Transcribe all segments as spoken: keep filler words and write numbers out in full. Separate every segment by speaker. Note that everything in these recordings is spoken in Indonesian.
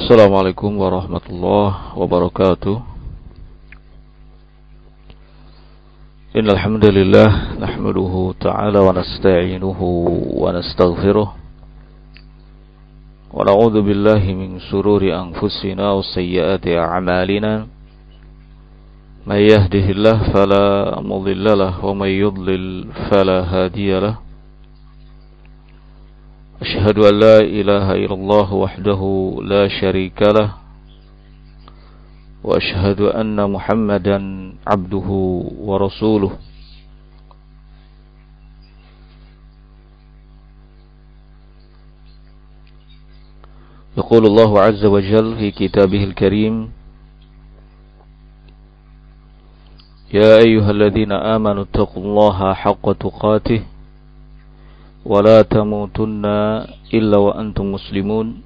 Speaker 1: Assalamualaikum warahmatullahi wabarakatuh. Innal hamdalillah nahmaduhu ta'ala wa nasta'inuhu wa nastaghfiruh wa na'udzu billahi min shururi anfusina wa sayyiati a'malina. May yahdihillahu fala mudilla lahu wa may yudlil fala hadiya lahu. Asyhadu an la ilaha illallah wahdahu la syarika lah wa asyhadu anna Muhammadan abduhu wa rasuluh. Yaqulu Allah azza wa jalla fi kitabihil karim, ya ayyuhalladzina amanu taqullaha haqqa tuqatih ولا تموتن إلا وأنتم مسلمون.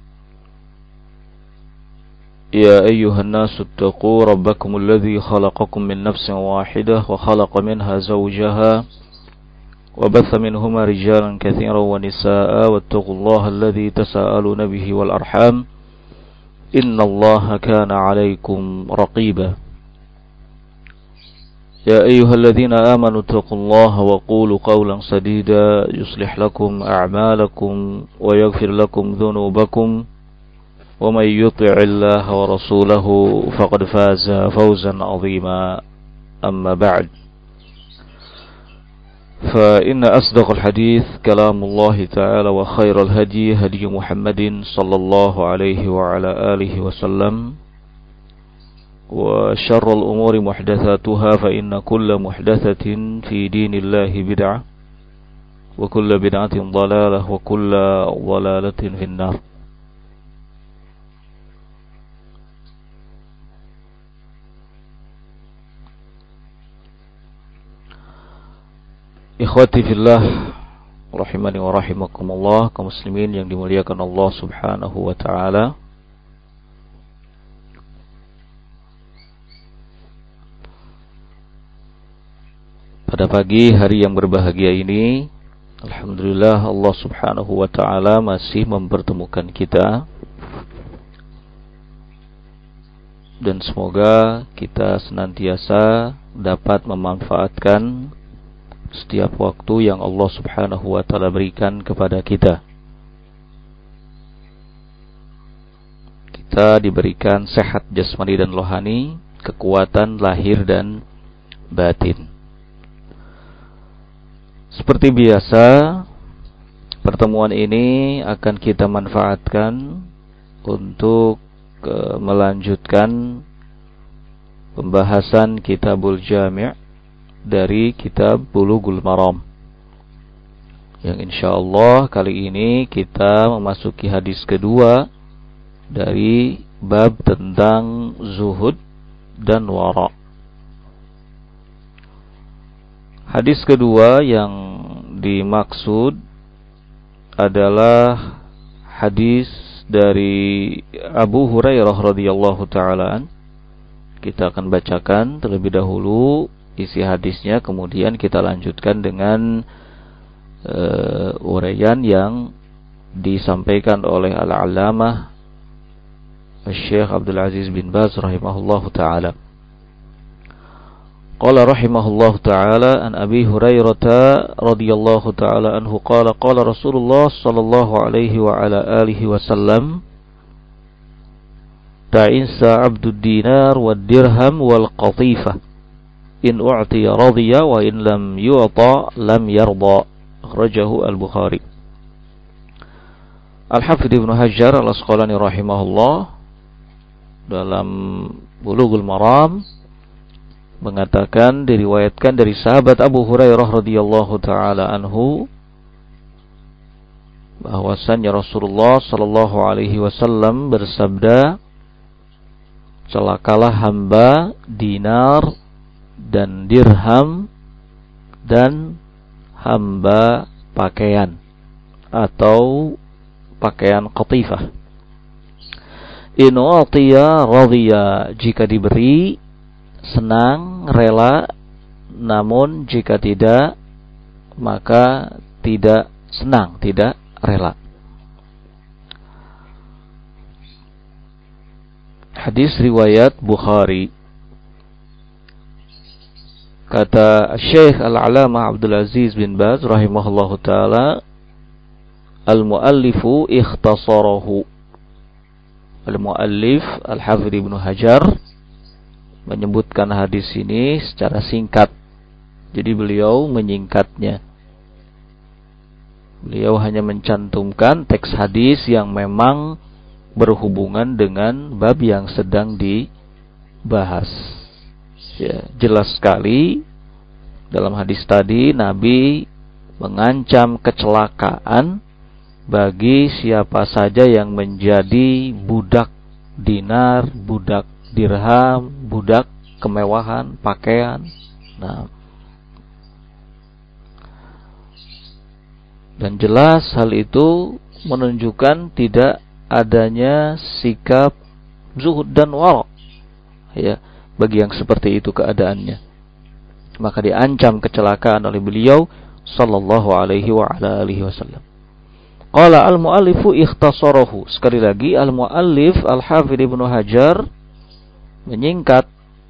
Speaker 1: يا أيها الناس اتقوا ربكم الذي خلقكم من نفس واحدة وخلق منها زوجها وبث منهما رجالا كثيرا ونساء واتقوا الله الذي تساءلون به والأرحام إن الله كان عليكم رقيبا. يا أيها الذين آمنوا اتقوا الله وقولوا قولا سديدا يصلح لكم أعمالكم ويغفر لكم ذنوبكم ومن يطع الله ورسوله فقد فاز فوزا عظيما. أما بعد، فإن أصدق الحديث كلام الله تعالى وخير الهدي هدي محمد صلى الله عليه وعلى آله وسلم وشر الأمور محدثاتها فإن كل محدثة في دين الله بدعة وكل بدعة ضلالة وكل ضلالة في النار. Ikhwati fillah rahimani wa rahimakumullah, kaum muslimin yang dimuliakan Allah Subhanahu wa taala. Pada pagi hari yang berbahagia ini, alhamdulillah Allah Subhanahu wa ta'ala masih mempertemukan kita. Dan semoga kita senantiasa dapat memanfaatkan setiap waktu yang Allah Subhanahu wa ta'ala berikan kepada kita. Kita diberikan sehat jasmani dan rohani, kekuatan lahir dan batin. Seperti biasa, pertemuan ini akan kita manfaatkan untuk uh, melanjutkan pembahasan Kitabul Jami' dari kitab Bulughul Maram. Yang insyaallah kali ini kita memasuki hadis kedua dari bab tentang zuhud dan wara'. Hadis kedua yang dimaksud adalah hadis dari Abu Hurairah radhiyallahu ta'ala. Kita akan bacakan terlebih dahulu isi hadisnya, kemudian kita lanjutkan dengan uh, uraian yang disampaikan oleh Al-Allamah Syekh Abdul Aziz bin Baz rahimahullahu ta'ala. Qala rahimahullahu ta'ala an Abi Hurairah radhiyallahu ta'ala anhu qala qala Rasulullah sallallahu alaihi wa ala alihi wasallam ta'insa 'abdud dinar wad dirham wal qatifah in u'tiya radiya wa in lam yu'ta lam yarda. Akhrajahu Al-Bukhari. Al-Hafidz Ibnu Hajar Al-Asqalani rahimahullah dalam Bulughul Maram mengatakan, diriwayatkan dari sahabat Abu Hurairah radhiyallahu taala anhu bahwasannya Rasulullah sallallahu alaihi wasallam bersabda, celakalah hamba dinar dan dirham dan hamba pakaian atau pakaian qatifah. In u'tiya radiya, jika diberi senang, rela, namun jika tidak maka tidak senang, tidak rela. hadis riwayat Bukhari. Kata Syekh Al-Alamah Abdul Aziz bin Baz rahimahullahu taala, al-muallifu ikhtasarahu. Al-muallif Al-Hafidz Ibnu Hajar menyebutkan hadis ini secara singkat. Jadi beliau menyingkatnya. Beliau hanya mencantumkan teks hadis yang memang berhubungan dengan bab yang sedang dibahas. Ya, jelas sekali dalam hadis tadi Nabi mengancam kecelakaan bagi siapa saja yang menjadi budak dinar, budak dirham, budak kemewahan, pakaian. Nah, dan jelas hal itu menunjukkan tidak adanya sikap zuhud dan wara, ya, bagi yang seperti itu keadaannya. Maka diancam kecelakaan oleh beliau sallallahu alaihi wa ala alihi wasallam. Qala al-muallifu ikhtasarahu. Sekali lagi al-muallif Al-Hafidz Ibnu Hajar menyingkat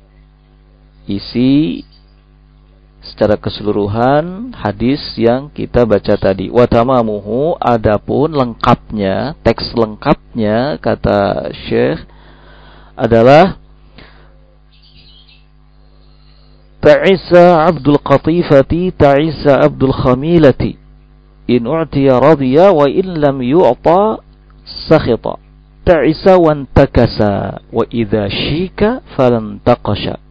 Speaker 1: isi secara keseluruhan hadis yang kita baca tadi. Wa tamamuhu, adapun lengkapnya, teks lengkapnya kata Syekh adalah ta'isa Abdul Qatifati ta'isa Abdul Khamilati in u'tiya radiya wa in lam yu'ta sakhita ta'isa wa antakasa wa idha shika falan taqasha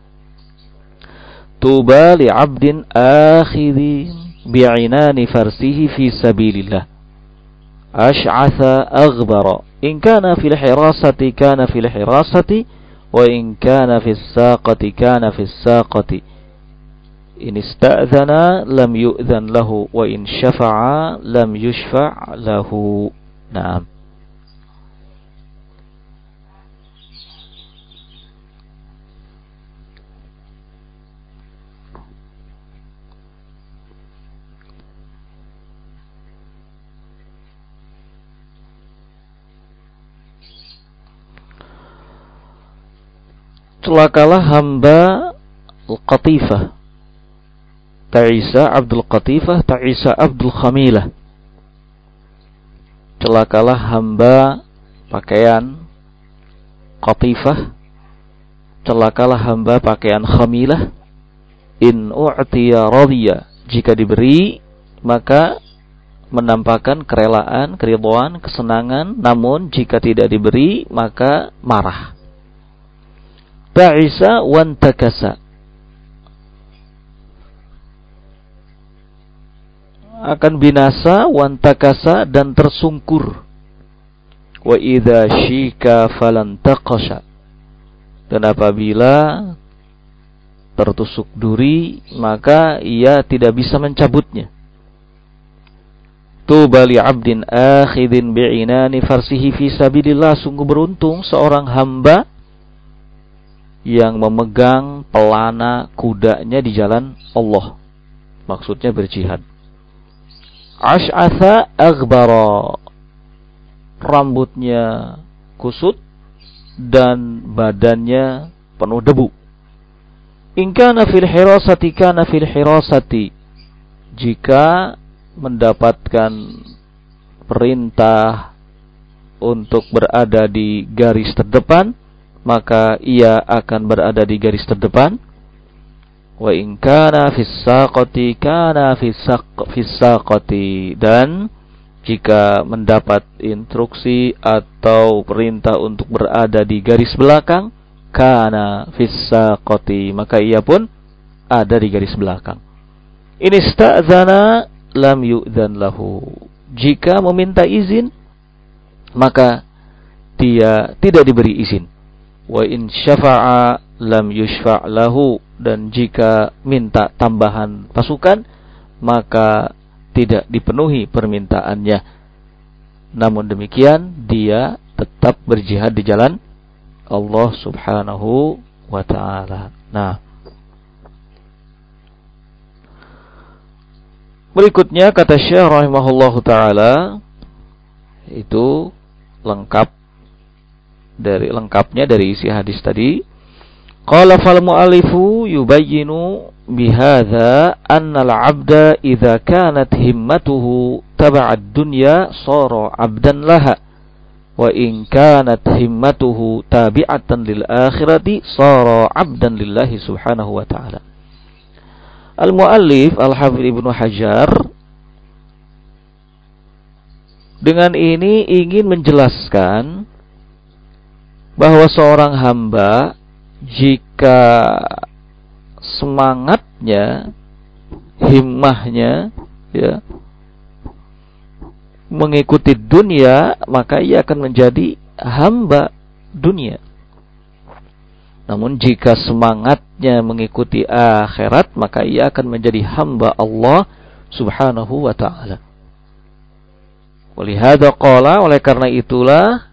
Speaker 1: tuba li'abdin akhidhi bi'inani farsihi fi sabilillah ash'atha aghbara in kana fil hirasati kana fil hirasati wa in kana fis saqati kana fis saqati in ista'dhana lam yu'dhan lahu wa in syafa'a lam yushfa' lahu. Naam. Celakalah hamba Al-Qatifah, Ta'isa Abdul Qatifah, Ta'isa Abdul Khamilah. Celakalah hamba pakaian Qatifah, celakalah hamba pakaian Khamilah. In u'tiya radiya, jika diberi maka menampakkan kerelaan, keridhaan, kesenangan, namun jika tidak diberi maka marah. Ta'isa wan takasa, akan binasa, wantakasa, dan tersungkur. Wa idza syika falan taqasha, dan apabila tertusuk duri maka ia tidak bisa mencabutnya. Tuba li 'abdin akhidin bi'inani farsihi fi sabilillah, sungguh beruntung seorang hamba yang memegang pelana kudanya di jalan Allah, maksudnya berjihad. Ash'atha aghbara, rambutnya kusut dan badannya penuh debu. In kana fil hirasati kana fil hirasati, jika mendapatkan perintah untuk berada di garis terdepan maka ia akan berada di garis terdepan. Wa in kana fis saqati kana fis saqati, dan jika mendapat instruksi atau perintah untuk berada di garis belakang, kana fis saqati, maka ia pun ada di garis belakang. In ista'dzana lam yu'dzan lahu, jika meminta izin maka dia tidak diberi izin. Wa in syafa'a lam yushfa' lahu, dan jika minta tambahan pasukan maka tidak dipenuhi permintaannya. Namun demikian dia tetap berjihad di jalan Allah Subhanahu wa ta'ala. Nah, berikutnya kata Syekh rahimahullahu ta'ala, itu lengkap dari lengkapnya dari isi hadis tadi. Qala fal mu'allifu yubayyinu bihadza anna al-'abda idza kanat himmatuhu tab'a ad-dunya sara 'abdan laha wa in kanat himmatuhu tabi'atan lil akhirati sara 'abdan lillahi subhanahu wa ta'ala. Al-mu'allif Al-Hafidz Ibnu Hajar dengan ini ingin menjelaskan bahwa seorang hamba jika semangatnya, himmahnya ya mengikuti dunia, maka ia akan menjadi hamba dunia. Namun jika semangatnya mengikuti akhirat, maka ia akan menjadi hamba Allah Subhanahu wa ta'ala. Walihada qala, oleh karena itulah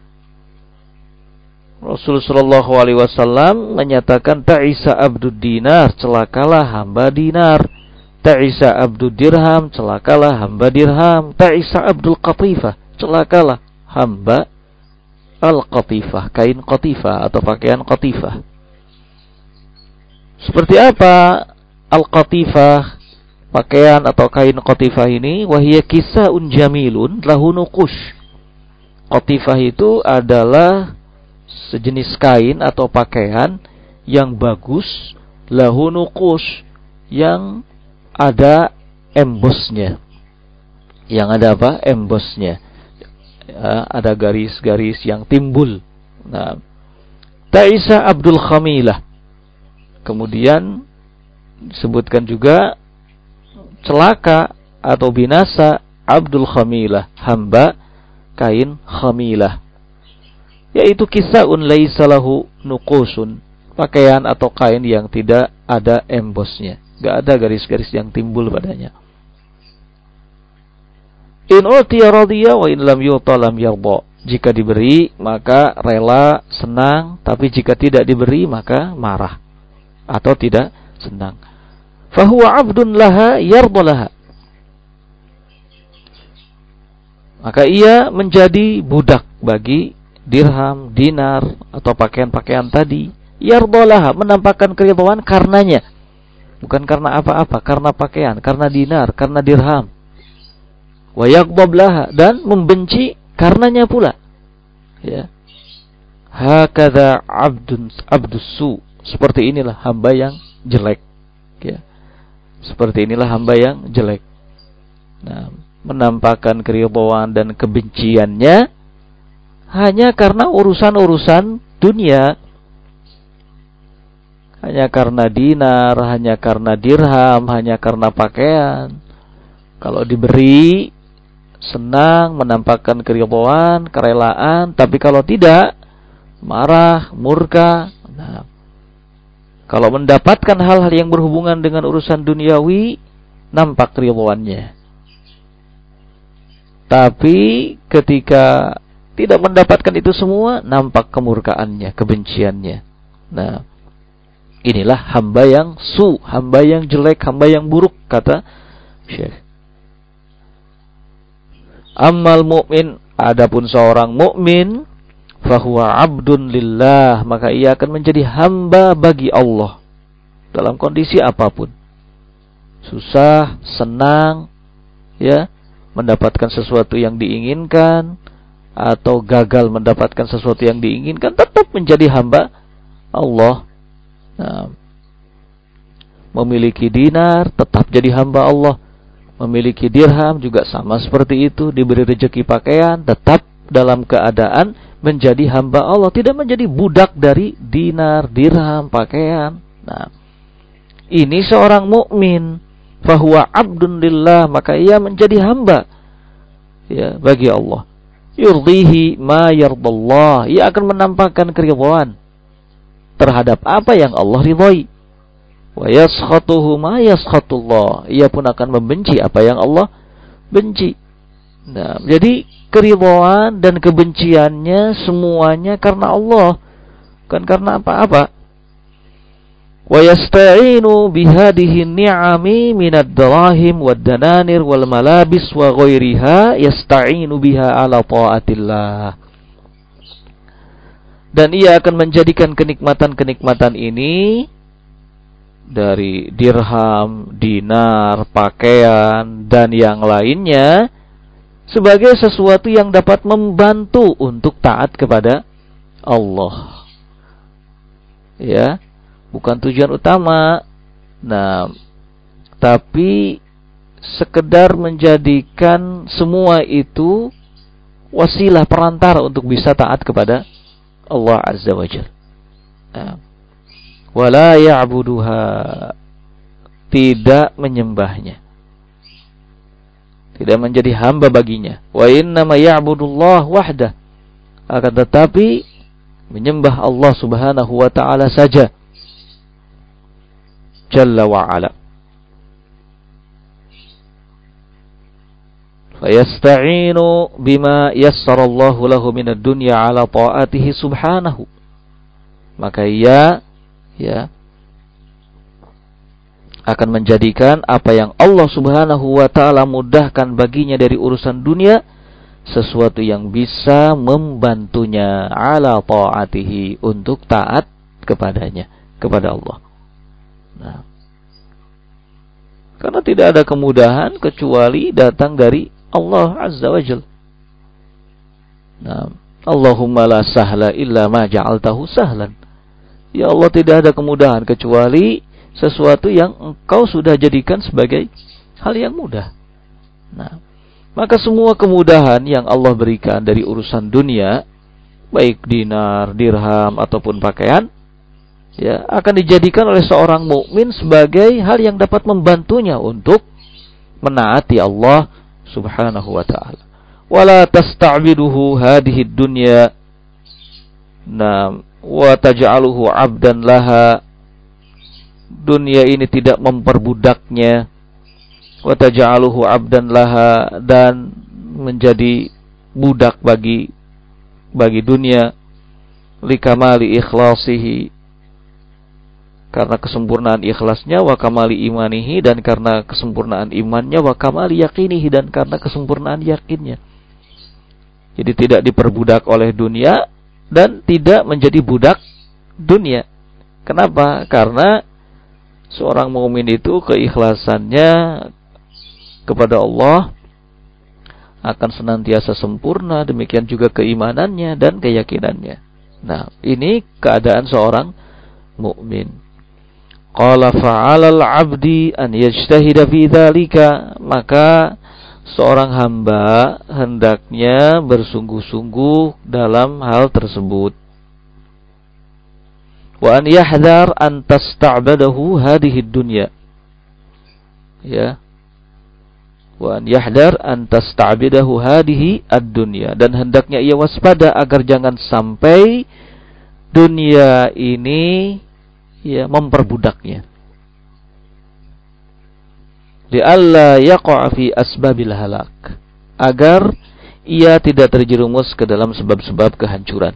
Speaker 1: Rasulullah sallallahu alaihi wasallam menyatakan ta'isa abdud dinar, celakalah hamba dinar. Ta'isa abdud dirham, celakalah hamba dirham. Ta'isa abdul qatifah, celakalah hamba al-qatifah, kain qatifah atau pakaian qatifah. Seperti apa al-qatifah, pakaian atau kain qatifah ini? Wahiyya kisa'un jamilun lahu nuqush. Qatifah itu adalah sejenis kain atau pakaian yang bagus, lahu nuqush, yang ada embosnya. Yang ada apa? Embosnya. Ya, ada garis-garis yang timbul. Nah, Ta'isa Abdul Khamilah. Kemudian disebutkan juga celaka atau binasa Abdul Khamilah, hamba kain khamilah. Yaitu kisa'un laisa lahu nuqusun, pakaian atau kain yang tidak ada embosnya, enggak ada garis-garis yang timbul padanya. In utiya radiya wa in lam yuta lam yarda. Jika diberi maka rela, senang, tapi jika tidak diberi maka marah atau tidak senang. Fahuwa 'abdun laha yarda laha. Maka ia menjadi budak bagi dirham, dinar atau pakaian-pakaian tadi. Yarda laha, menampakkan keridhaan karenanya. Bukan karena apa-apa, karena pakaian, karena dinar, karena dirham. Wa yaghdab laha, dan membenci karenanya pula. Ya. Hakadha 'abdun 'abdus su. Seperti inilah hamba yang jelek. Ya. Seperti inilah hamba yang jelek. Nah, menampakkan keridhaan dan kebenciannya hanya karena urusan-urusan dunia. Hanya karena dinar, hanya karena dirham, hanya karena pakaian. Kalau diberi, senang, menampakkan keridhaan, kerelaan. Tapi kalau tidak, marah, murka. Nah, kalau mendapatkan hal-hal yang berhubungan dengan urusan duniawi, nampak keridhaannya. Tapi ketika tidak mendapatkan itu semua, nampak kemurkaannya, kebenciannya. Nah, inilah hamba yang su, hamba yang jelek, hamba yang buruk, kata Syekh. Ammal mu'min, adapun seorang mukmin, fahuwa 'abdun lillah, maka ia akan menjadi hamba bagi Allah dalam kondisi apapun. Susah, senang, ya, mendapatkan sesuatu yang diinginkan atau gagal mendapatkan sesuatu yang diinginkan, tetap menjadi hamba Allah. Nah, memiliki dinar tetap jadi hamba Allah. Memiliki dirham juga sama seperti itu. Diberi rezeki pakaian tetap dalam keadaan menjadi hamba Allah, tidak menjadi budak dari dinar, dirham, pakaian. Nah, ini seorang mukmin, fahuwa 'abdun lillah, maka ia menjadi hamba ya bagi Allah. Yurdihi ma yardallah, ia akan menampakkan keridhaan terhadap apa yang Allah ridhai. Wa yaskhatuhu ma yaskhatullah, ia pun akan membenci apa yang Allah benci. Nah, jadi keridhaan dan kebenciannya semuanya karena Allah, bukan karena apa-apa. Wa yasta'inu bihadihi ni'ami minad darahim wad dananir wal malabis wa ghairiha, yasta'inu biha ala ta'atillah. Dan ia akan menjadikan kenikmatan-kenikmatan ini dari dirham, dinar, pakaian, dan yang lainnya sebagai sesuatu yang dapat membantu untuk taat kepada Allah. Ya, bukan tujuan utama. Nah, tapi sekedar menjadikan semua itu wasilah perantara untuk bisa taat kepada Allah Azza wa Jalla. Nah, wala ya'buduha, tidak menyembahnya, tidak menjadi hamba baginya. Wa innama ya'budullah wahdah, akan tetapi menyembah Allah Subhanahu wa ta'ala saja, Jalla wa ala. Fayasta'inu bima yassarallahu lahu minad dunya ala ta'atihi subhanahu. Maka ia ya akan menjadikan apa yang Allah Subhanahu wa ta'ala mudahkan baginya dari urusan dunia sesuatu yang bisa membantunya ala ta'atihi, untuk taat kepadanya, kepada Allah. Nah, karena tidak ada kemudahan kecuali datang dari Allah Azza wa Jalla. Nah, Allahumma la sahla illa ma ja'altahu sahlan. Ya Allah, tidak ada kemudahan kecuali sesuatu yang Engkau sudah jadikan sebagai hal yang mudah. Nah, maka semua kemudahan yang Allah berikan dari urusan dunia, baik dinar, dirham ataupun pakaian, ya, akan dijadikan oleh seorang mukmin sebagai hal yang dapat membantunya untuk menaati Allah Subhanahu wa ta'ala. Wala tasta'biduhu hadhihi dunya, nah, wa taj'aluhu 'abdan laha, dunia ini tidak memperbudaknya, wa taj'aluhu 'abdan laha, dan menjadi budak bagi bagi dunia, likamali ikhlasihi, karena kesempurnaan ikhlasnya, wa kamali imanihi, dan karena kesempurnaan imannya, wa kamali yakinihi, dan karena kesempurnaan yakinnya. Jadi tidak diperbudak oleh dunia dan tidak menjadi budak dunia. Kenapa? Karena seorang mukmin itu keikhlasannya kepada Allah akan senantiasa sempurna, demikian juga keimanannya dan keyakinannya. Nah, ini keadaan seorang mukmin. Qala fa'alal 'abdi an yajtahida fi dzalika, maka seorang hamba hendaknya bersungguh-sungguh dalam hal tersebut. Wa an yahdhar an tasta'badahu hadhihi dunya, ya, wa an yahdhar an tasta'bidahu hadhihi ad-dunya, dan hendaknya ia waspada agar jangan sampai dunia ini, ya, memperbudaknya. Li'alla yaqa' fi asbabil halak, agar ia tidak terjerumus ke dalam sebab-sebab kehancuran.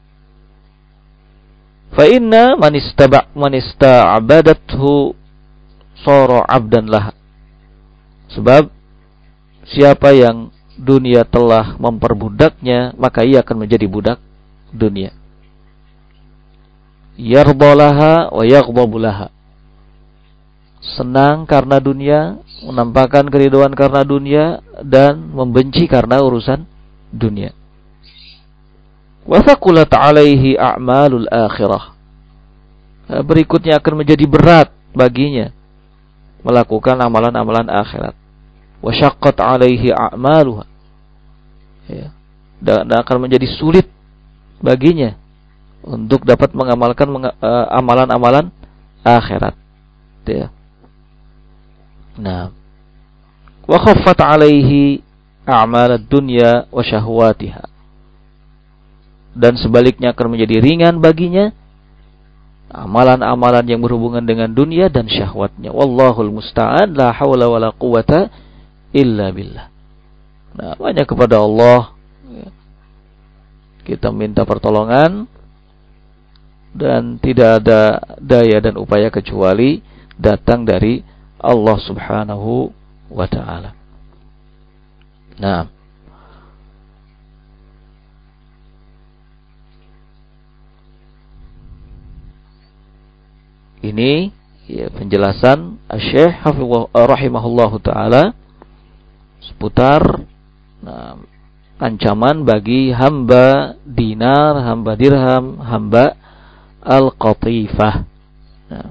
Speaker 1: Fa inna man istaba' man ista'badathu sara 'abdan laha, sebab siapa yang dunia telah memperbudaknya, maka ia akan menjadi budak dunia. Yardalaha wa yaghdabulaha, senang karena dunia, menampakkan keridhaan karena dunia, dan membenci karena urusan dunia. Wa thaqulat 'alaihi a'malul akhirah, berikutnya akan menjadi berat baginya melakukan amalan-amalan akhirat. Wa syaqqat 'alaihi a'maluha, ya, dan akan menjadi sulit baginya untuk dapat mengamalkan uh, amalan-amalan akhirat, ya. Nah, wa khaffat 'alaihi a'malad dunya wa syahwatiha, dan sebaliknya akan menjadi ringan baginya amalan-amalan yang berhubungan dengan dunia dan syahwatnya. Wallahul musta'an, la haula wala quwata illa billah. Nah, hanya kepada Allah, ya, kita minta pertolongan, dan tidak ada daya dan upaya kecuali datang dari Allah Subhanahu wa ta'ala. Nah, Ini ya, penjelasan Asy-Syaikh Hafizahullah rahimahullahu taala seputar nah, ancaman bagi hamba dinar, hamba dirham, hamba al-qatifah. Nah.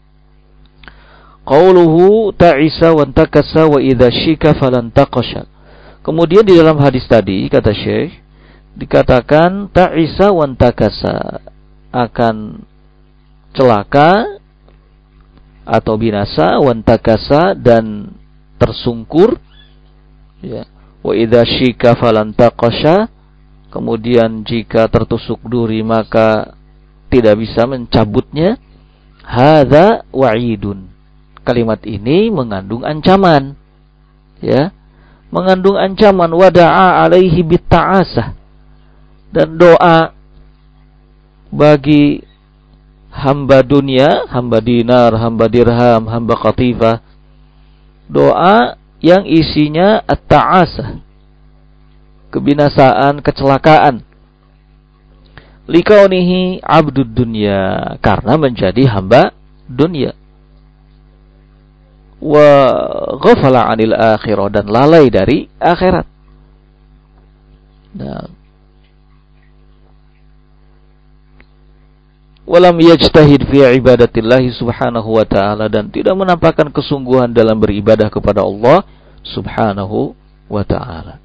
Speaker 1: Qauluhu ta'isa wa antakasa wa idza syika falan taqasha. Kemudian di dalam hadis tadi kata Syekh dikatakan ta'isa wa antakasa, akan celaka atau binasa, wa antakasa dan tersungkur, ya. Wa idza syika falan taqasha, kemudian jika tertusuk duri maka tidak bisa mencabutnya. Hadza wa'idun. Kalimat ini mengandung ancaman, ya, mengandung ancaman. Wada'a alaihi bitta'asah, dan doa bagi hamba dunia, hamba dinar, hamba dirham, hamba qatifah, doa yang isinya at-ta'asah, kebinasaan, kecelakaan. Likaunihi abdud dunya, karena menjadi hamba dunia. Wa ghafala 'anil akhirah, dan lalai dari akhirat. Nah, walam yajtahid fi ibadatillahi subhanahu wa ta'ala, dan tidak menampakkan kesungguhan dalam beribadah kepada Allah subhanahu wa ta'ala.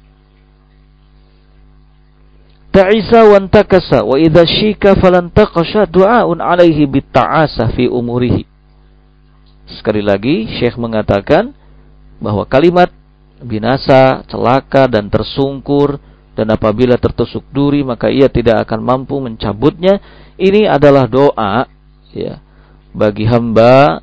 Speaker 1: Ta'isa wa antakasa wa idza syika falan taqasha du'aun 'alaihi bitta'asah fi umurihi. Sekali lagi Syekh mengatakan bahwa kalimat binasa, celaka dan tersungkur, dan apabila tertusuk duri maka ia tidak akan mampu mencabutnya, ini adalah doa, ya, bagi hamba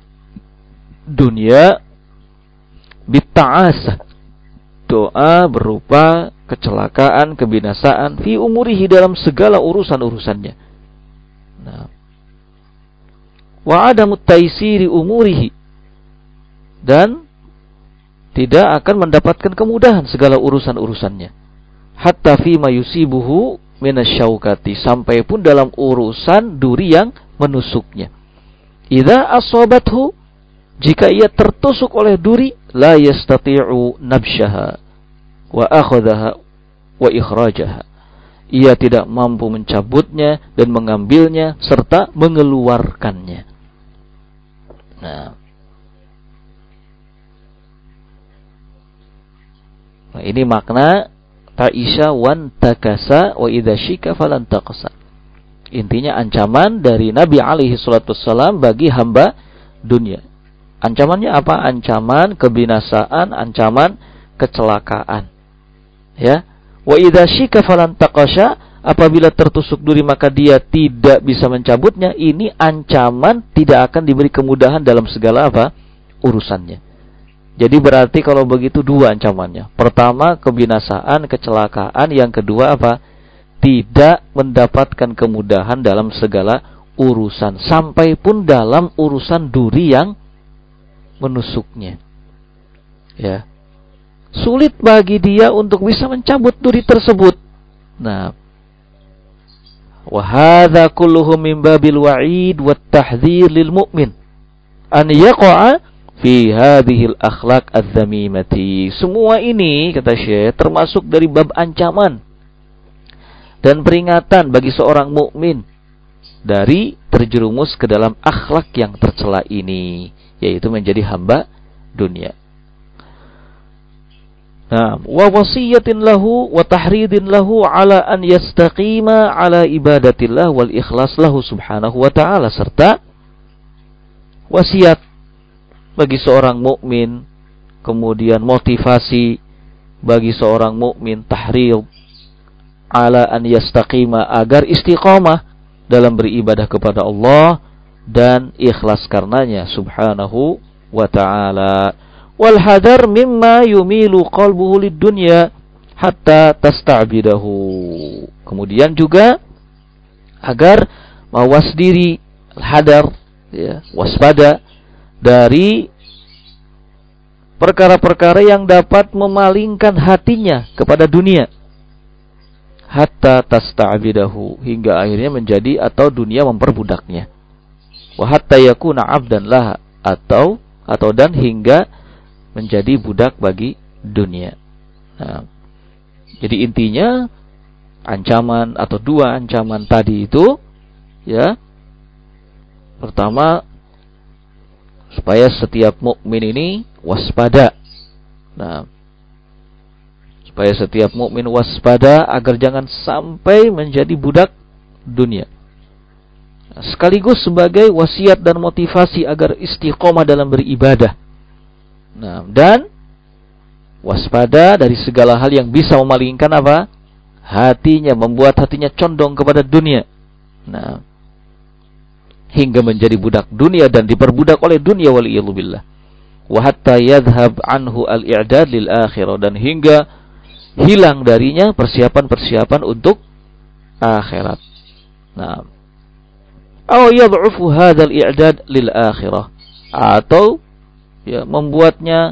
Speaker 1: dunia bitta'asah, doa berupa kecelakaan, kebinasaan fi umurihi, dalam segala urusan-urusannya. Nah, wa adamut taisiri umurihi, dan tidak akan mendapatkan kemudahan segala urusan-urusannya. Hatta fi ma yusibuhu minasyaukati, sampai pun dalam urusan duri yang menusuknya. Idza asabathu, jika ia tertusuk oleh duri, la yastati'u nabshaha wa akhadhaha wa ikhrajaha, ia tidak mampu mencabutnya dan mengambilnya serta mengeluarkannya. Nah, nah ini makna ta'isha wan takasa wa idza syika falan taqasa. Intinya ancaman dari Nabi alaihi salatu wassalam bagi hamba dunia. Ancamannya apa? Ancaman kebinasaan, ancaman kecelakaan. Ya. Wa idza syika falan taqasha, apabila tertusuk duri maka dia tidak bisa mencabutnya. Ini ancaman tidak akan diberi kemudahan dalam segala apa? Urusannya. Jadi berarti kalau begitu dua ancamannya. Pertama kebinasaan, kecelakaan. Yang kedua apa? Tidak mendapatkan kemudahan dalam segala urusan, sampai pun dalam urusan duri yang menusuknya. Ya. Sulit bagi dia untuk bisa mencabut duri tersebut. Nah, wa hadza kulluhu min babil wa'id wat tahdhir lil mu'min an yaqa'a fi hadhihi al akhlaq adz-dzamimati. Semua ini kata Syekh termasuk dari bab ancaman dan peringatan bagi seorang mukmin dari terjerumus ke dalam akhlak yang tercela ini, yaitu menjadi hamba dunia. Nah, wa wasiyatin lahu wa tahridin lahu ala an yastaqima ala ibadatillah wal ikhlas lahu subhanahu wa ta'ala, serta wasiat bagi seorang mukmin, kemudian motivasi bagi seorang mukmin, tahrid ala an yastaqima, agar istiqamah dalam beribadah kepada Allah dan ikhlas karenanya subhanahu wa ta'ala. Wal hadar mimma yumilu qalbuhu lid dunya hatta tasta'bidahu. Kemudian juga agar mawas diri, hadar, ya, waspada dari perkara-perkara yang dapat memalingkan hatinya kepada dunia. Hatta tasta'bidahu, hingga akhirnya menjadi atau dunia memperbudaknya. wa hatta yakuna 'abdan laha, atau atau dan hingga menjadi budak bagi dunia. Nah, jadi intinya ancaman atau dua ancaman tadi itu, ya, pertama supaya setiap mukmin ini waspada. Nah, supaya setiap mukmin waspada agar jangan sampai menjadi budak dunia. Sekaligus sebagai wasiat dan motivasi agar istiqomah dalam beribadah. Nah, dan waspada dari segala hal yang bisa memalingkan apa? Hatinya, membuat hatinya condong kepada dunia. Nah, hingga menjadi budak dunia dan diperbudak oleh dunia, waliyadzubillah. Wa hatta yadhhab anhu al-i'dad lil akhirah, dan hingga hilang darinya persiapan-persiapan untuk akhirat. Nah, aw yad'ufu hadzal i'dad lil akhirah, atau ya membuatnya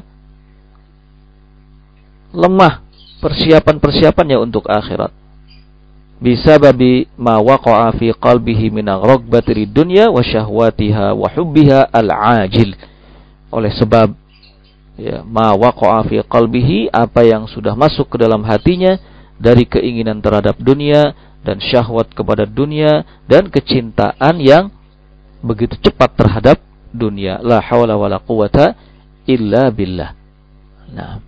Speaker 1: lemah persiapan-persiapannya untuk akhirat. Bisa babi ma waqa'a fi qalbihi min raghbati dunya wa syahwatiha wa hubbiha al-ajil. Oleh sebab ya ma waqa'a fi qalbihi, apa yang sudah masuk ke dalam hatinya dari keinginan terhadap dunia dan syahwat kepada dunia dan kecintaan yang begitu cepat terhadap dunia. La haula wala quwata illa billah. Nah,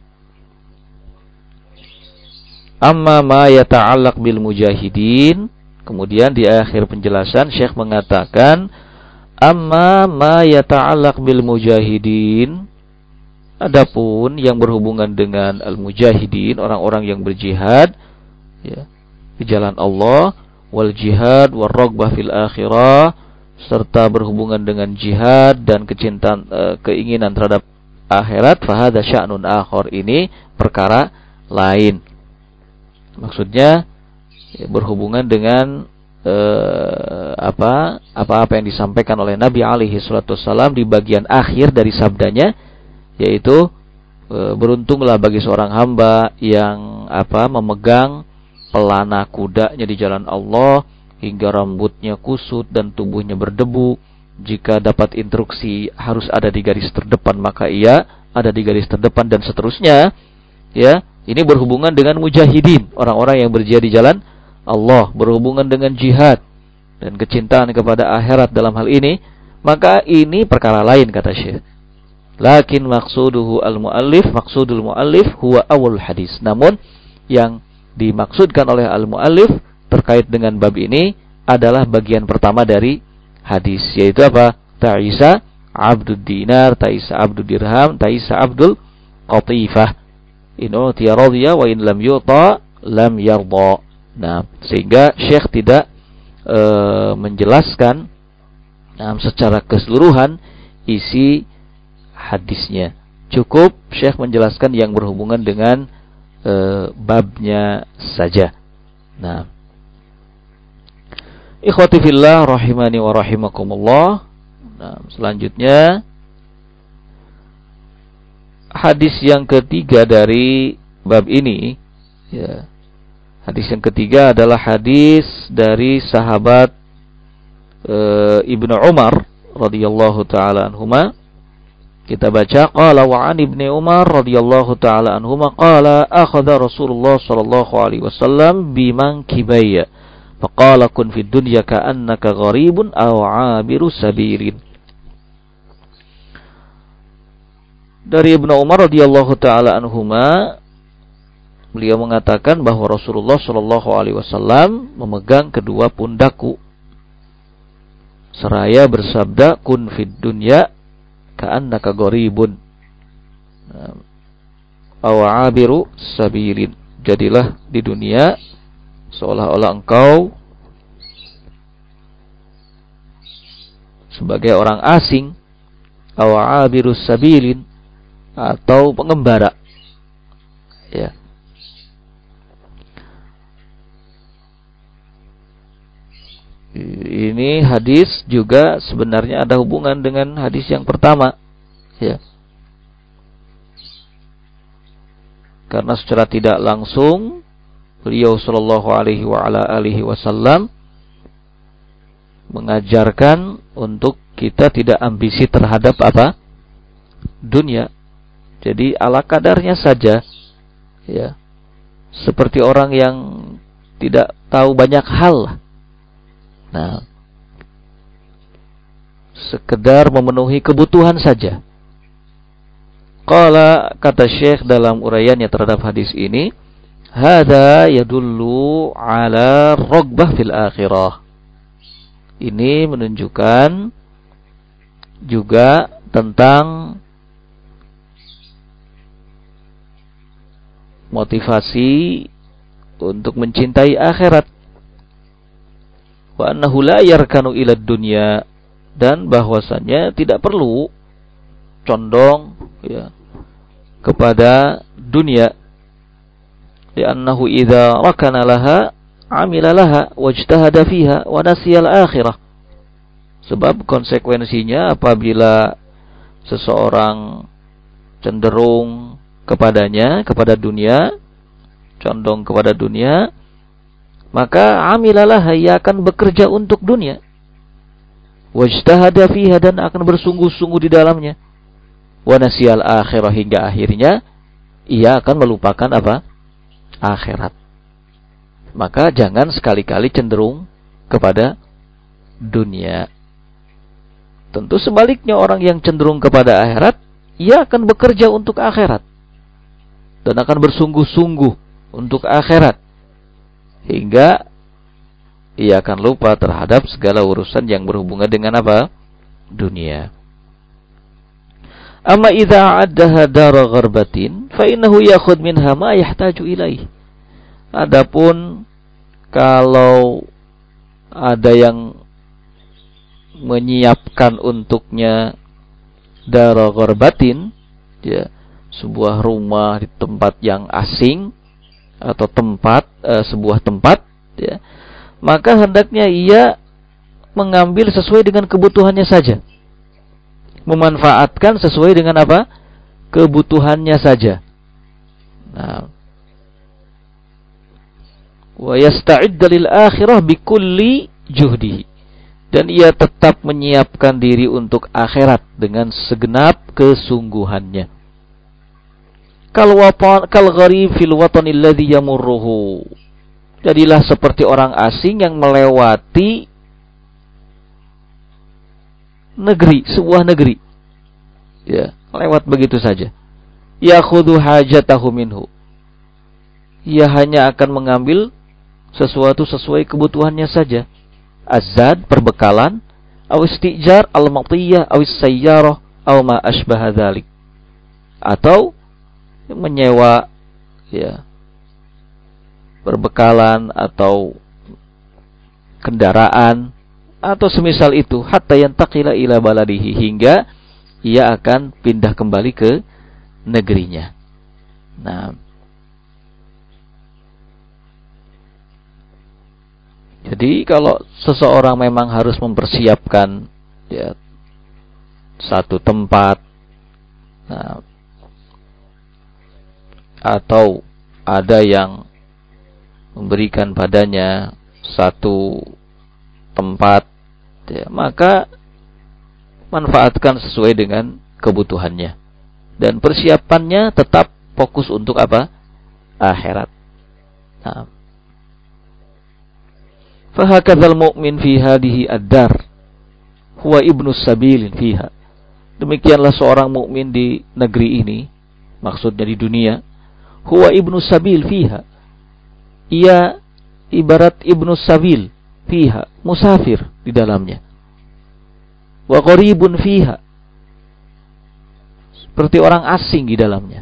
Speaker 1: amma ma yata'allaq bil mujahidin, kemudian di akhir penjelasan Syekh mengatakan amma ma yata'allaq bil mujahidin, adapun yang berhubungan dengan al-mujahidin, orang-orang yang berjihad ya di jalan Allah, wal jihad war raghbah fil akhirah, serta berhubungan dengan jihad dan kecintaan e, keinginan terhadap akhirat, fa hadza sya'nun akhar, ini perkara lain. Maksudnya ya, berhubungan dengan e, apa apa-apa yang disampaikan oleh Nabi alaihi salatu wassalam di bagian akhir dari sabdanya, yaitu e, beruntunglah bagi seorang hamba yang apa memegang pelana kudanya di jalan Allah hingga rambutnya kusut dan tubuhnya berdebu. Jika dapat instruksi harus ada di garis terdepan, maka ia ada di garis terdepan, dan seterusnya. Ya, ini berhubungan dengan mujahidin, orang-orang yang berjihad di jalan Allah, berhubungan dengan jihad dan kecintaan kepada akhirat dalam hal ini, maka ini perkara lain kata Syekh. Lakin maqsuduhu al-muallif, maqsudul muallif huwa awal hadis. Namun yang dimaksudkan oleh al-muallif terkait dengan bab ini adalah bagian pertama dari hadis, yaitu apa? Ta'isa abdud dinar, ta'isa abdud dirham, ta'isa abdul qatifah. In utiya radhiya wa in lam yuta lam yarda. Nah, sehingga Syekh tidak e, menjelaskan nah, secara keseluruhan isi hadisnya. Cukup Syekh menjelaskan yang berhubungan dengan e, babnya saja. Nah, ikhwati fillah rahimani wa rahimakumullah. Nah, selanjutnya hadis yang ketiga dari bab ini, ya. Hadis yang ketiga adalah hadis dari sahabat e, Ibnu Umar radhiyallahu taala anhuma. Kita baca, qala wa an Ibnu Umar radhiyallahu taala anhuma qala akhadha Rasulullah sallallahu alaihi wasallam bimankibayya faqala kun fid dunya ka'annaka gharibun aw 'abiru sabilin. Dari Ibnu Umar radhiyallahu taala anhuma, beliau mengatakan bahwa Rasulullah sallallahu alaihi wasallam memegang kedua pundakku seraya bersabda, kun fid dunya ka'annaka gharibun aw 'abiru sabilin. Jadilah di dunia seolah-olah engkau sebagai orang asing, aw 'abiru sabilin, atau pengembara. Ya. Ini hadis juga sebenarnya ada hubungan dengan hadis yang pertama, ya. Karena secara tidak langsung beliau sallallahu alaihi wa ala alihi wasallam mengajarkan untuk kita tidak ambisi terhadap apa? Dunia. Jadi ala kadarnya saja, ya. Seperti orang yang tidak tahu banyak hal. Nah, sekedar memenuhi kebutuhan saja. Qala, kata Syekh dalam uraiannya terhadap hadis ini, hada yadullu ala raghbah fil akhirah. Ini menunjukkan juga tentang motivasi untuk mencintai akhirat. Wa annahu la yarkanu ila dunya, dan bahwasannya tidak perlu condong, ya, kepada dunia. Li'annahu idza rakana laha amila laha wajtahada fiha wa nasiya al-akhirah. Sebab konsekuensinya apabila seseorang cenderung kepadanya, kepada dunia, condong kepada dunia, maka amilalah, ia akan bekerja untuk dunia. Wajtahada fiha, dan akan bersungguh-sungguh di dalamnya. Wa nasiyal akhirah, hingga akhirnya ia akan melupakan apa? Akhirat. Maka jangan sekali-kali cenderung kepada dunia. Tentu sebaliknya, orang yang cenderung kepada akhirat, ia akan bekerja untuk akhirat dan akan bersungguh-sungguh untuk akhirat, hingga ia akan lupa terhadap segala urusan yang berhubungan dengan apa? Dunia. Amma idza addaha dara gharbatin fa innahu ya'khudh minha ma yahtaju ilaih. Adapun kalau ada yang menyiapkan untuknya dara gharbatin, ya, sebuah rumah di tempat yang asing atau tempat e, sebuah tempat, ya, maka hendaknya ia mengambil sesuai dengan kebutuhannya saja. Memanfaatkan sesuai dengan apa? Kebutuhannya saja. Nah, wa yasta'idda lil akhirah bikulli juhdihi, dan ia tetap menyiapkan diri untuk akhirat dengan segenap kesungguhannya. Kal watan kal gharib fil watani alladhi yamurruhu. Jadilah seperti orang asing yang melewati negeri, sebuah negeri, ya, lewat begitu saja. Yakhudhu hajatahu minhu. Ia hanya akan mengambil sesuatu sesuai kebutuhannya saja. Azad, perbekalan, aw istijar al-matiyah, aw sayyarah, aw ma ashbaha dzalik. Atau menyewa, ya, perbekalan atau kendaraan atau semisal itu, hatta yantaqila ila baladihi, hingga ia akan pindah kembali ke negerinya. Nah, jadi kalau seseorang memang harus mempersiapkan, ya, satu tempat, nah, atau ada yang memberikan padanya satu tempat, ya, maka manfaatkan sesuai dengan kebutuhannya, dan persiapannya tetap fokus untuk apa? Akhirat. Nah, fahakadzal mu'min fi hadhihi ad-dar huwa ibnu sabil fiha. Demikianlah seorang mukmin di negeri ini, maksudnya di dunia, huwa ibnu sabil fiha. Ia ibarat ibnu sabil fiha, musafir di dalamnya. Wa gharibun fiha, seperti orang asing di dalamnya.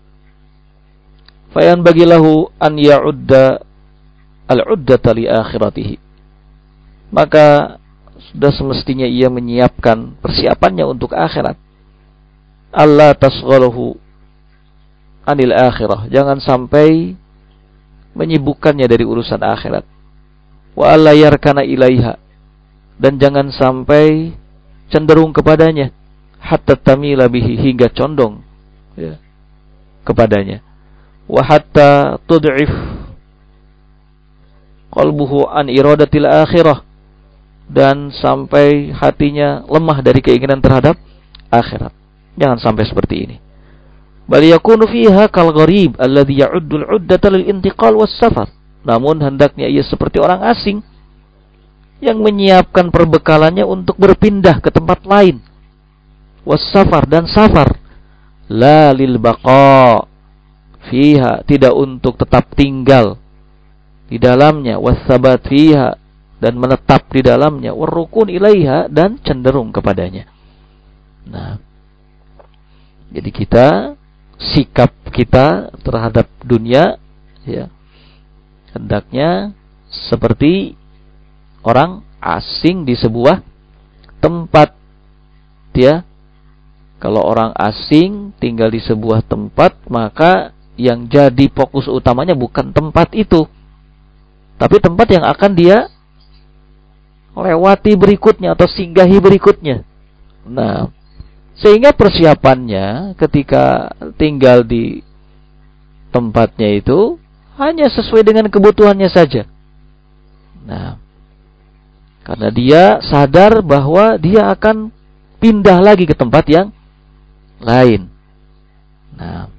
Speaker 1: Fayan bagilahu an ya'udda al-uddata li akhiratihi. Maka sudah semestinya ia menyiapkan persiapannya untuk akhirat. Allah tasghaluhu anil akhirah, jangan sampai menyibukkannya dari urusan akhirat. Wa alla yarkana ilaiha, dan jangan sampai cenderung kepadanya, hatta tamila bihi, hingga condong, ya, kepadanya. Wa hatta tud'if qalbuhu an iradatil akhirah, dan sampai hatinya lemah dari keinginan terhadap akhirat. Jangan sampai seperti ini. Bal yakunu fiha kal gharib alladhi ya'uddu al-'uddata lil intiqal was safar. Namun hendaknya ia seperti orang asing yang menyiapkan perbekalannya untuk berpindah ke tempat lain. Was safar, dan safar. La lil baqa fiha, tidak untuk tetap tinggal di dalamnya. Was sabat fiha, dan menetap di dalamnya. War rukun ilaiha, dan cenderung kepadanya. Nah, jadi kita, sikap kita terhadap dunia, ya, hendaknya seperti orang asing di sebuah tempat. Ya, kalau orang asing tinggal di sebuah tempat, maka yang jadi fokus utamanya bukan tempat itu, tapi tempat yang akan dia lewati berikutnya atau singgahi berikutnya. Nah, sehingga persiapannya ketika tinggal di tempatnya itu hanya sesuai dengan kebutuhannya saja. Nah, karena dia sadar bahwa dia akan pindah lagi ke tempat yang lain. Nah,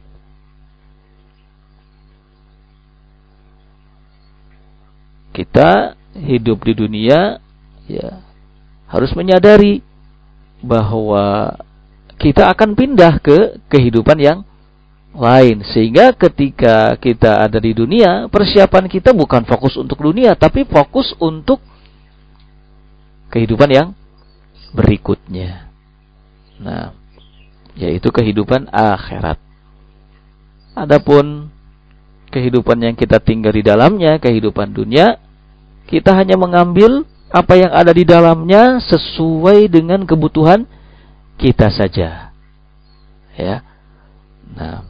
Speaker 1: kita hidup di dunia, ya, harus menyadari bahwa kita akan pindah ke kehidupan yang lain. Sehingga ketika kita ada di dunia, persiapan kita bukan fokus untuk dunia, tapi fokus untuk kehidupan yang berikutnya. Nah, yaitu kehidupan akhirat. Adapun kehidupan yang kita tinggal di dalamnya, kehidupan dunia, kita hanya mengambil apa yang ada di dalamnya sesuai dengan kebutuhan kita saja. Ya. Nah,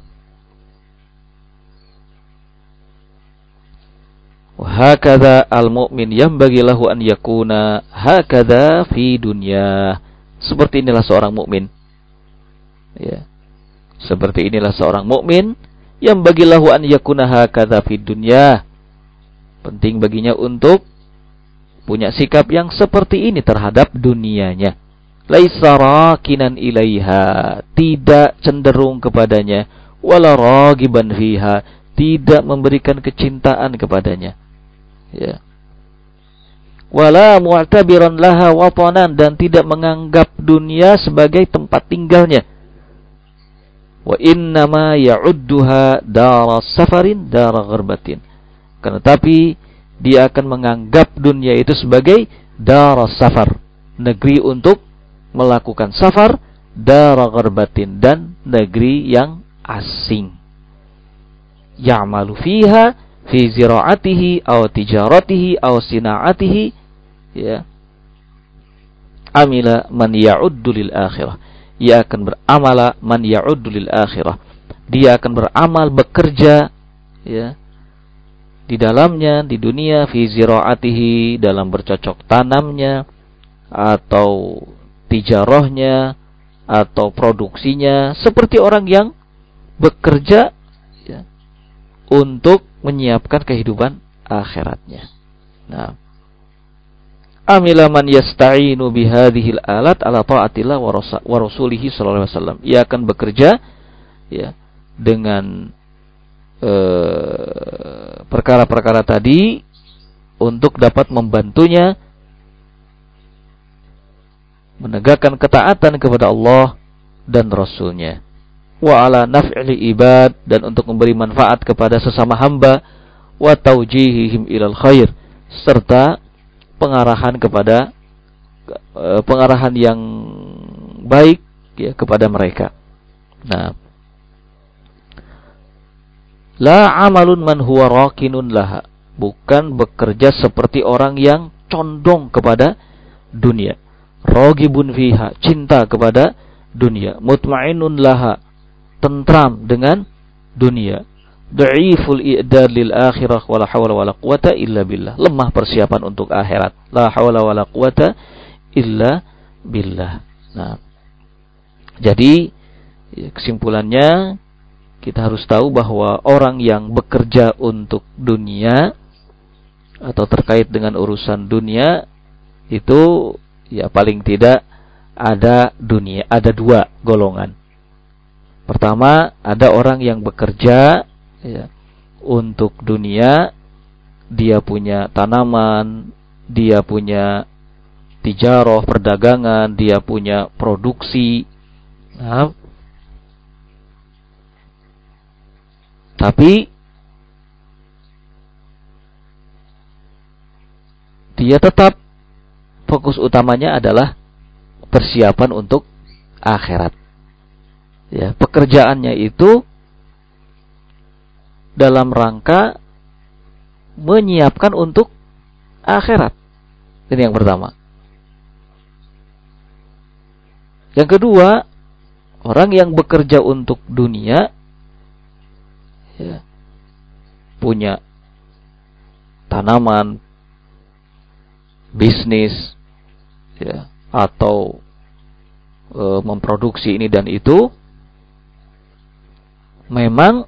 Speaker 1: wa hakadha al-mu'min yanbaghi lahu an yakuna hakadha fi dunya. Seperti inilah seorang mukmin. Ya. Seperti inilah seorang mukmin yang bagilahu an yakuna hakadha fi dunya. Penting baginya untuk punya sikap yang seperti ini terhadap dunianya. Laisa rakinan ilaiha, tidak cenderung kepadanya, wala ragiban fiha, tidak memberikan kecintaan kepadanya. Ya. Wala mu'tabiran laha watanan, dan tidak menganggap dunia sebagai tempat tinggalnya. Wa innama ya'udduha dara safarin dara gharbatin. Karena tapi dia akan menganggap dunia itu sebagai dara safar, negeri untuk melakukan safar, dara gharbatin, dan negeri yang asing. Ya'malu fiha fi zira'atihi aw tijaratihi aw sina'atihi, ya. Amila man ya'uddu lil akhirah. Ia akan beramala man ya'uddu lil akhirah. Dia akan beramal, bekerja, ya, di dalamnya, di dunia, fi zira'atihi, dalam bercocok tanamnya, atau tijarahnya, atau produksinya, seperti orang yang bekerja, ya, untuk menyiapkan kehidupan akhiratnya. Nah, amila man yasta'inu bihadhil alat ala ta'atillah wa rasulihi sallallahu alaihi wasallam. Ia akan bekerja, ya, dengan eh, perkara-perkara tadi untuk dapat membantunya menegakkan ketaatan kepada Allah dan Rasulnya. Wa ala naf'il ibad, dan untuk memberi manfaat kepada sesama hamba, wa taujihihim ilal khair, serta pengarahan kepada e, pengarahan yang baik, ya, kepada mereka. Nah, la amalun man huwa rakinun laha, bukan bekerja seperti orang yang condong kepada dunia. Ragibun fiha, cinta kepada dunia. Mutmainnun laha, tentram dengan dunia. Dha'iful i'dad lil akhirah wala hawla wala quwata illa billah. Lemah persiapan untuk akhirat. La hawla wala quwata illa billah. Nah, jadi kesimpulannya kita harus tahu bahwa orang yang bekerja untuk dunia atau terkait dengan urusan dunia itu ya paling tidak ada dunia, ada dua golongan. Pertama, ada orang yang bekerja ya, untuk dunia, dia punya tanaman, dia punya tijarah, perdagangan, dia punya produksi. Nah, tapi dia tetap fokus utamanya adalah persiapan untuk akhirat. Ya, pekerjaannya itu dalam rangka menyiapkan untuk akhirat. Ini yang pertama. Yang kedua, orang yang bekerja untuk dunia, ya, punya tanaman, bisnis, ya, atau e, memproduksi ini dan itu, memang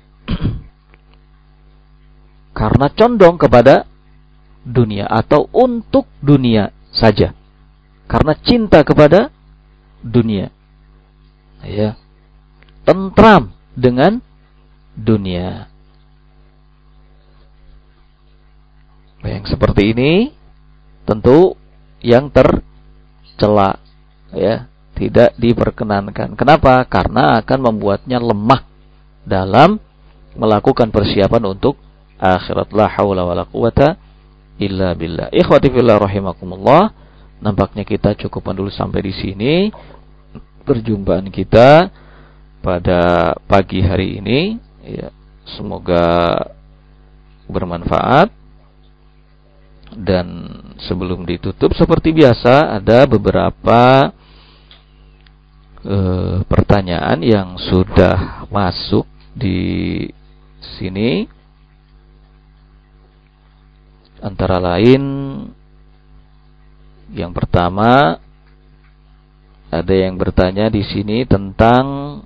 Speaker 1: karena condong kepada dunia atau untuk dunia saja, karena cinta kepada dunia, ya, tentram dengan dunia. Yang seperti ini tentu yang tercela, ya, tidak diperkenankan. Kenapa? Karena akan membuatnya lemah dalam melakukan persiapan untuk akhirat. La haula wala quwata illa billah. Ikhwati fillah rahimakumullah. Nampaknya kita cukupkan dulu sampai di sini perjumpaan kita pada pagi hari ini, ya, semoga bermanfaat. Dan sebelum ditutup seperti biasa ada beberapa uh, pertanyaan yang sudah masuk di sini. Antara lain yang pertama, ada yang bertanya di sini tentang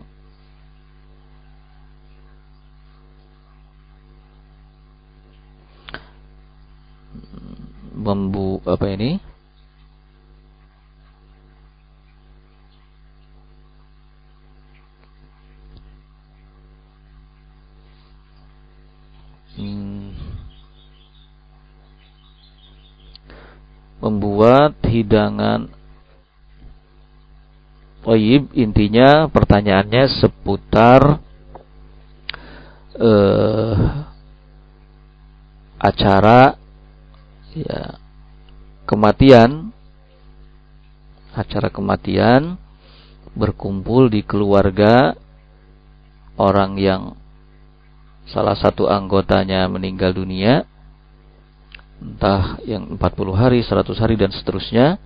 Speaker 1: membu apa ini? Hmm, membuat hidangan thayyib. Intinya pertanyaannya seputar eh, acara, ya, kematian, acara kematian, berkumpul di keluarga orang yang salah satu anggotanya meninggal dunia, entah yang empat puluh hari, seratus hari dan seterusnya.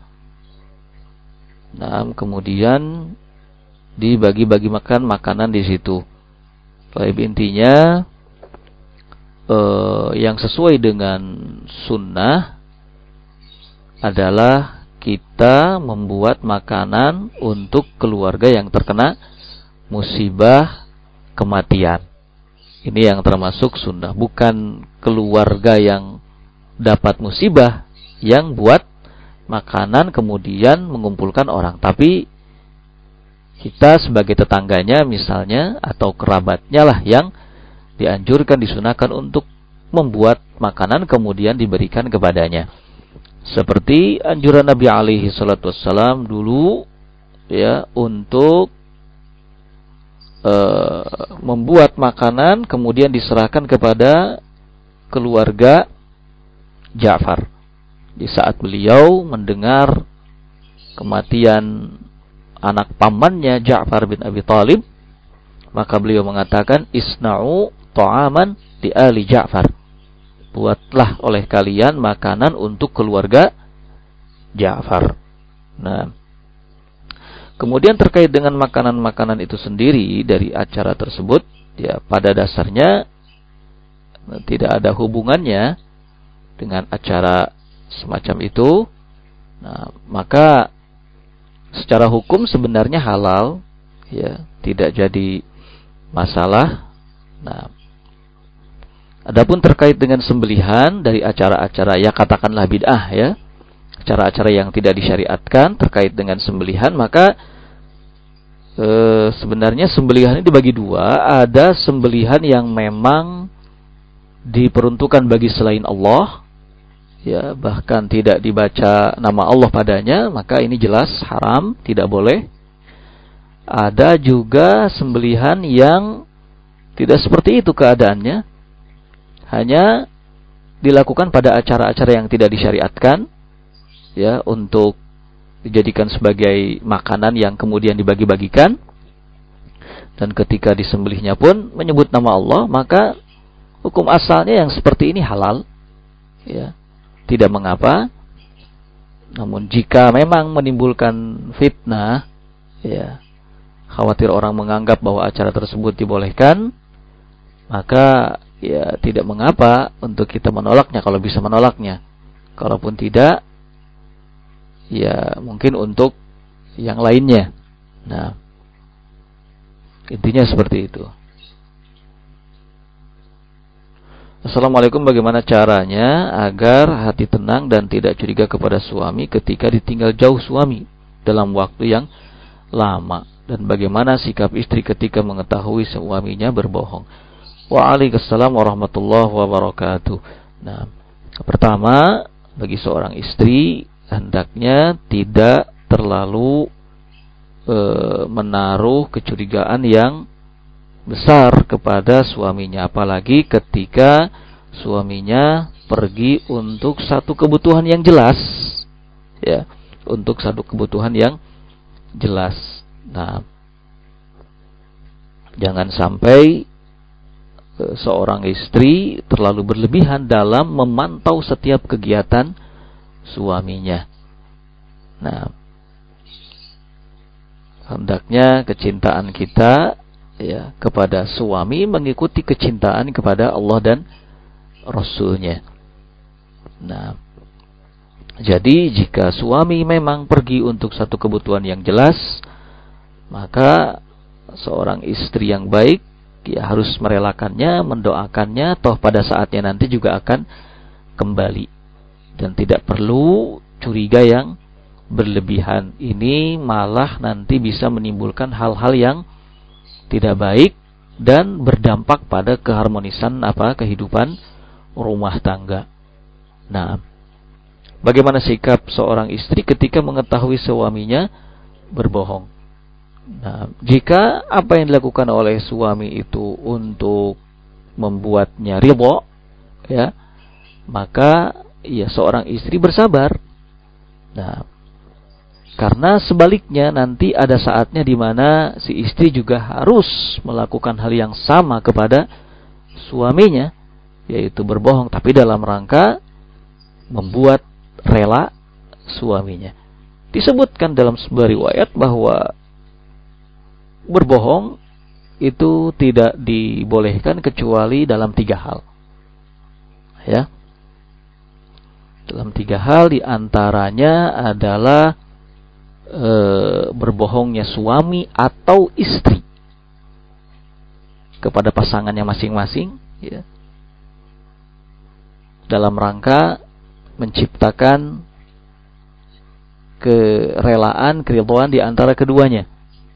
Speaker 1: Nah, kemudian dibagi-bagi makan makanan di situ. Baik, intinya eh, yang sesuai dengan sunnah adalah kita membuat makanan untuk keluarga yang terkena musibah kematian. Ini yang termasuk sunnah, bukan keluarga yang dapat musibah yang buat makanan kemudian mengumpulkan orang, tapi kita sebagai tetangganya misalnya atau kerabatnya lah yang dianjurkan, disunahkan untuk membuat makanan kemudian diberikan kepadanya. Seperti anjuran Nabi alaihi salatu wassalam dulu, ya, untuk uh, membuat makanan kemudian diserahkan kepada keluarga Ja'far. Di saat beliau mendengar kematian anak pamannya Ja'far bin Abi Thalib, maka beliau mengatakan, isna'u ta'aman di ali Ja'far. Buatlah oleh kalian makanan untuk keluarga Ja'far. Nah, kemudian terkait dengan makanan-makanan itu sendiri dari acara tersebut, ya, pada dasarnya tidak ada hubungannya dengan acara semacam itu. Nah, maka secara hukum sebenarnya halal, ya, tidak jadi masalah. Nah, adapun terkait dengan sembelihan dari acara-acara, ya, katakanlah bid'ah, ya, acara-acara yang tidak disyariatkan terkait dengan sembelihan, maka e, sebenarnya sembelihan ini dibagi dua. Ada sembelihan yang memang diperuntukkan bagi selain Allah, ya, bahkan tidak dibaca nama Allah padanya, maka ini jelas haram, tidak boleh. Ada juga sembelihan yang tidak seperti itu keadaannya, hanya dilakukan pada acara-acara yang tidak disyariatkan, ya, untuk dijadikan sebagai makanan yang kemudian dibagi-bagikan. Dan ketika disembelihnya pun menyebut nama Allah, maka hukum asalnya yang seperti ini halal, ya, tidak mengapa. Namun jika memang menimbulkan fitnah, ya, khawatir orang menganggap bahwa acara tersebut dibolehkan, maka ya tidak mengapa untuk kita menolaknya kalau bisa menolaknya. Kalaupun tidak, ya mungkin untuk yang lainnya. Nah, intinya seperti itu. Assalamualaikum, bagaimana caranya agar hati tenang dan tidak curiga kepada suami ketika ditinggal jauh suami dalam waktu yang lama? Dan bagaimana sikap istri ketika mengetahui suaminya berbohong? Waalaikumsalam warahmatullahi wabarakatuh. Nah, pertama, bagi seorang istri hendaknya tidak terlalu e, menaruh kecurigaan yang besar kepada suaminya, apalagi ketika suaminya pergi untuk satu kebutuhan yang jelas, ya, untuk satu kebutuhan yang jelas. Nah, jangan sampai e, seorang istri terlalu berlebihan dalam memantau setiap kegiatan suaminya. Nah, hendaknya kecintaan kita, ya, kepada suami mengikuti kecintaan kepada Allah dan Rasul-Nya. Nah, jadi jika suami memang pergi untuk satu kebutuhan yang jelas, maka seorang istri yang baik, ya, harus merelakannya, mendoakannya, toh pada saatnya nanti juga akan kembali. Dan tidak perlu curiga yang berlebihan. Ini malah nanti bisa menimbulkan hal-hal yang tidak baik dan berdampak pada keharmonisan apa kehidupan rumah tangga. Nah, bagaimana sikap seorang istri ketika mengetahui suaminya berbohong? Nah, jika apa yang dilakukan oleh suami itu untuk membuatnya ridha, ya, maka ya seorang istri bersabar. Nah, karena sebaliknya nanti ada saatnya di mana si istri juga harus melakukan hal yang sama kepada suaminya, yaitu berbohong, tapi dalam rangka membuat rela suaminya. Disebutkan dalam sebuah riwayat bahwa berbohong itu tidak dibolehkan kecuali dalam tiga hal, ya. Dalam tiga hal, diantaranya adalah e, berbohongnya suami atau istri kepada pasangannya masing-masing, ya, dalam rangka menciptakan kerelaan, keridhaan di antara keduanya.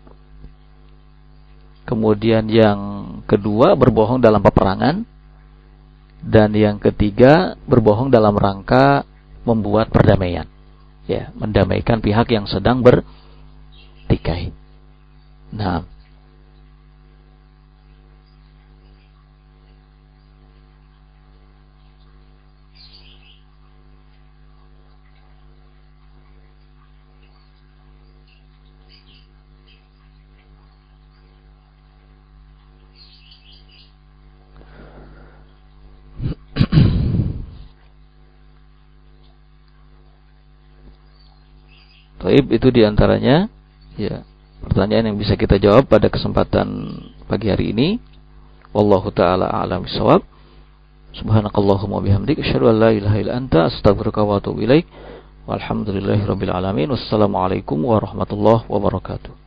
Speaker 1: Kemudian yang kedua, berbohong dalam peperangan. Dan yang ketiga, berbohong dalam rangka membuat perdamaian, ya, mendamaikan pihak yang sedang bertikai. Nah, Taib, itu diantaranya, ya, pertanyaan yang bisa kita jawab pada kesempatan pagi hari ini. Wallahu ta'ala a'lam bishawab. Subhanakallahumma bihamdik, asyhadu an la ilaha illa anta, astaghfiruka wa atubu ilaik. Walhamdulillahirabbil alamin. Wassalamualaikum warahmatullahi wabarakatuh.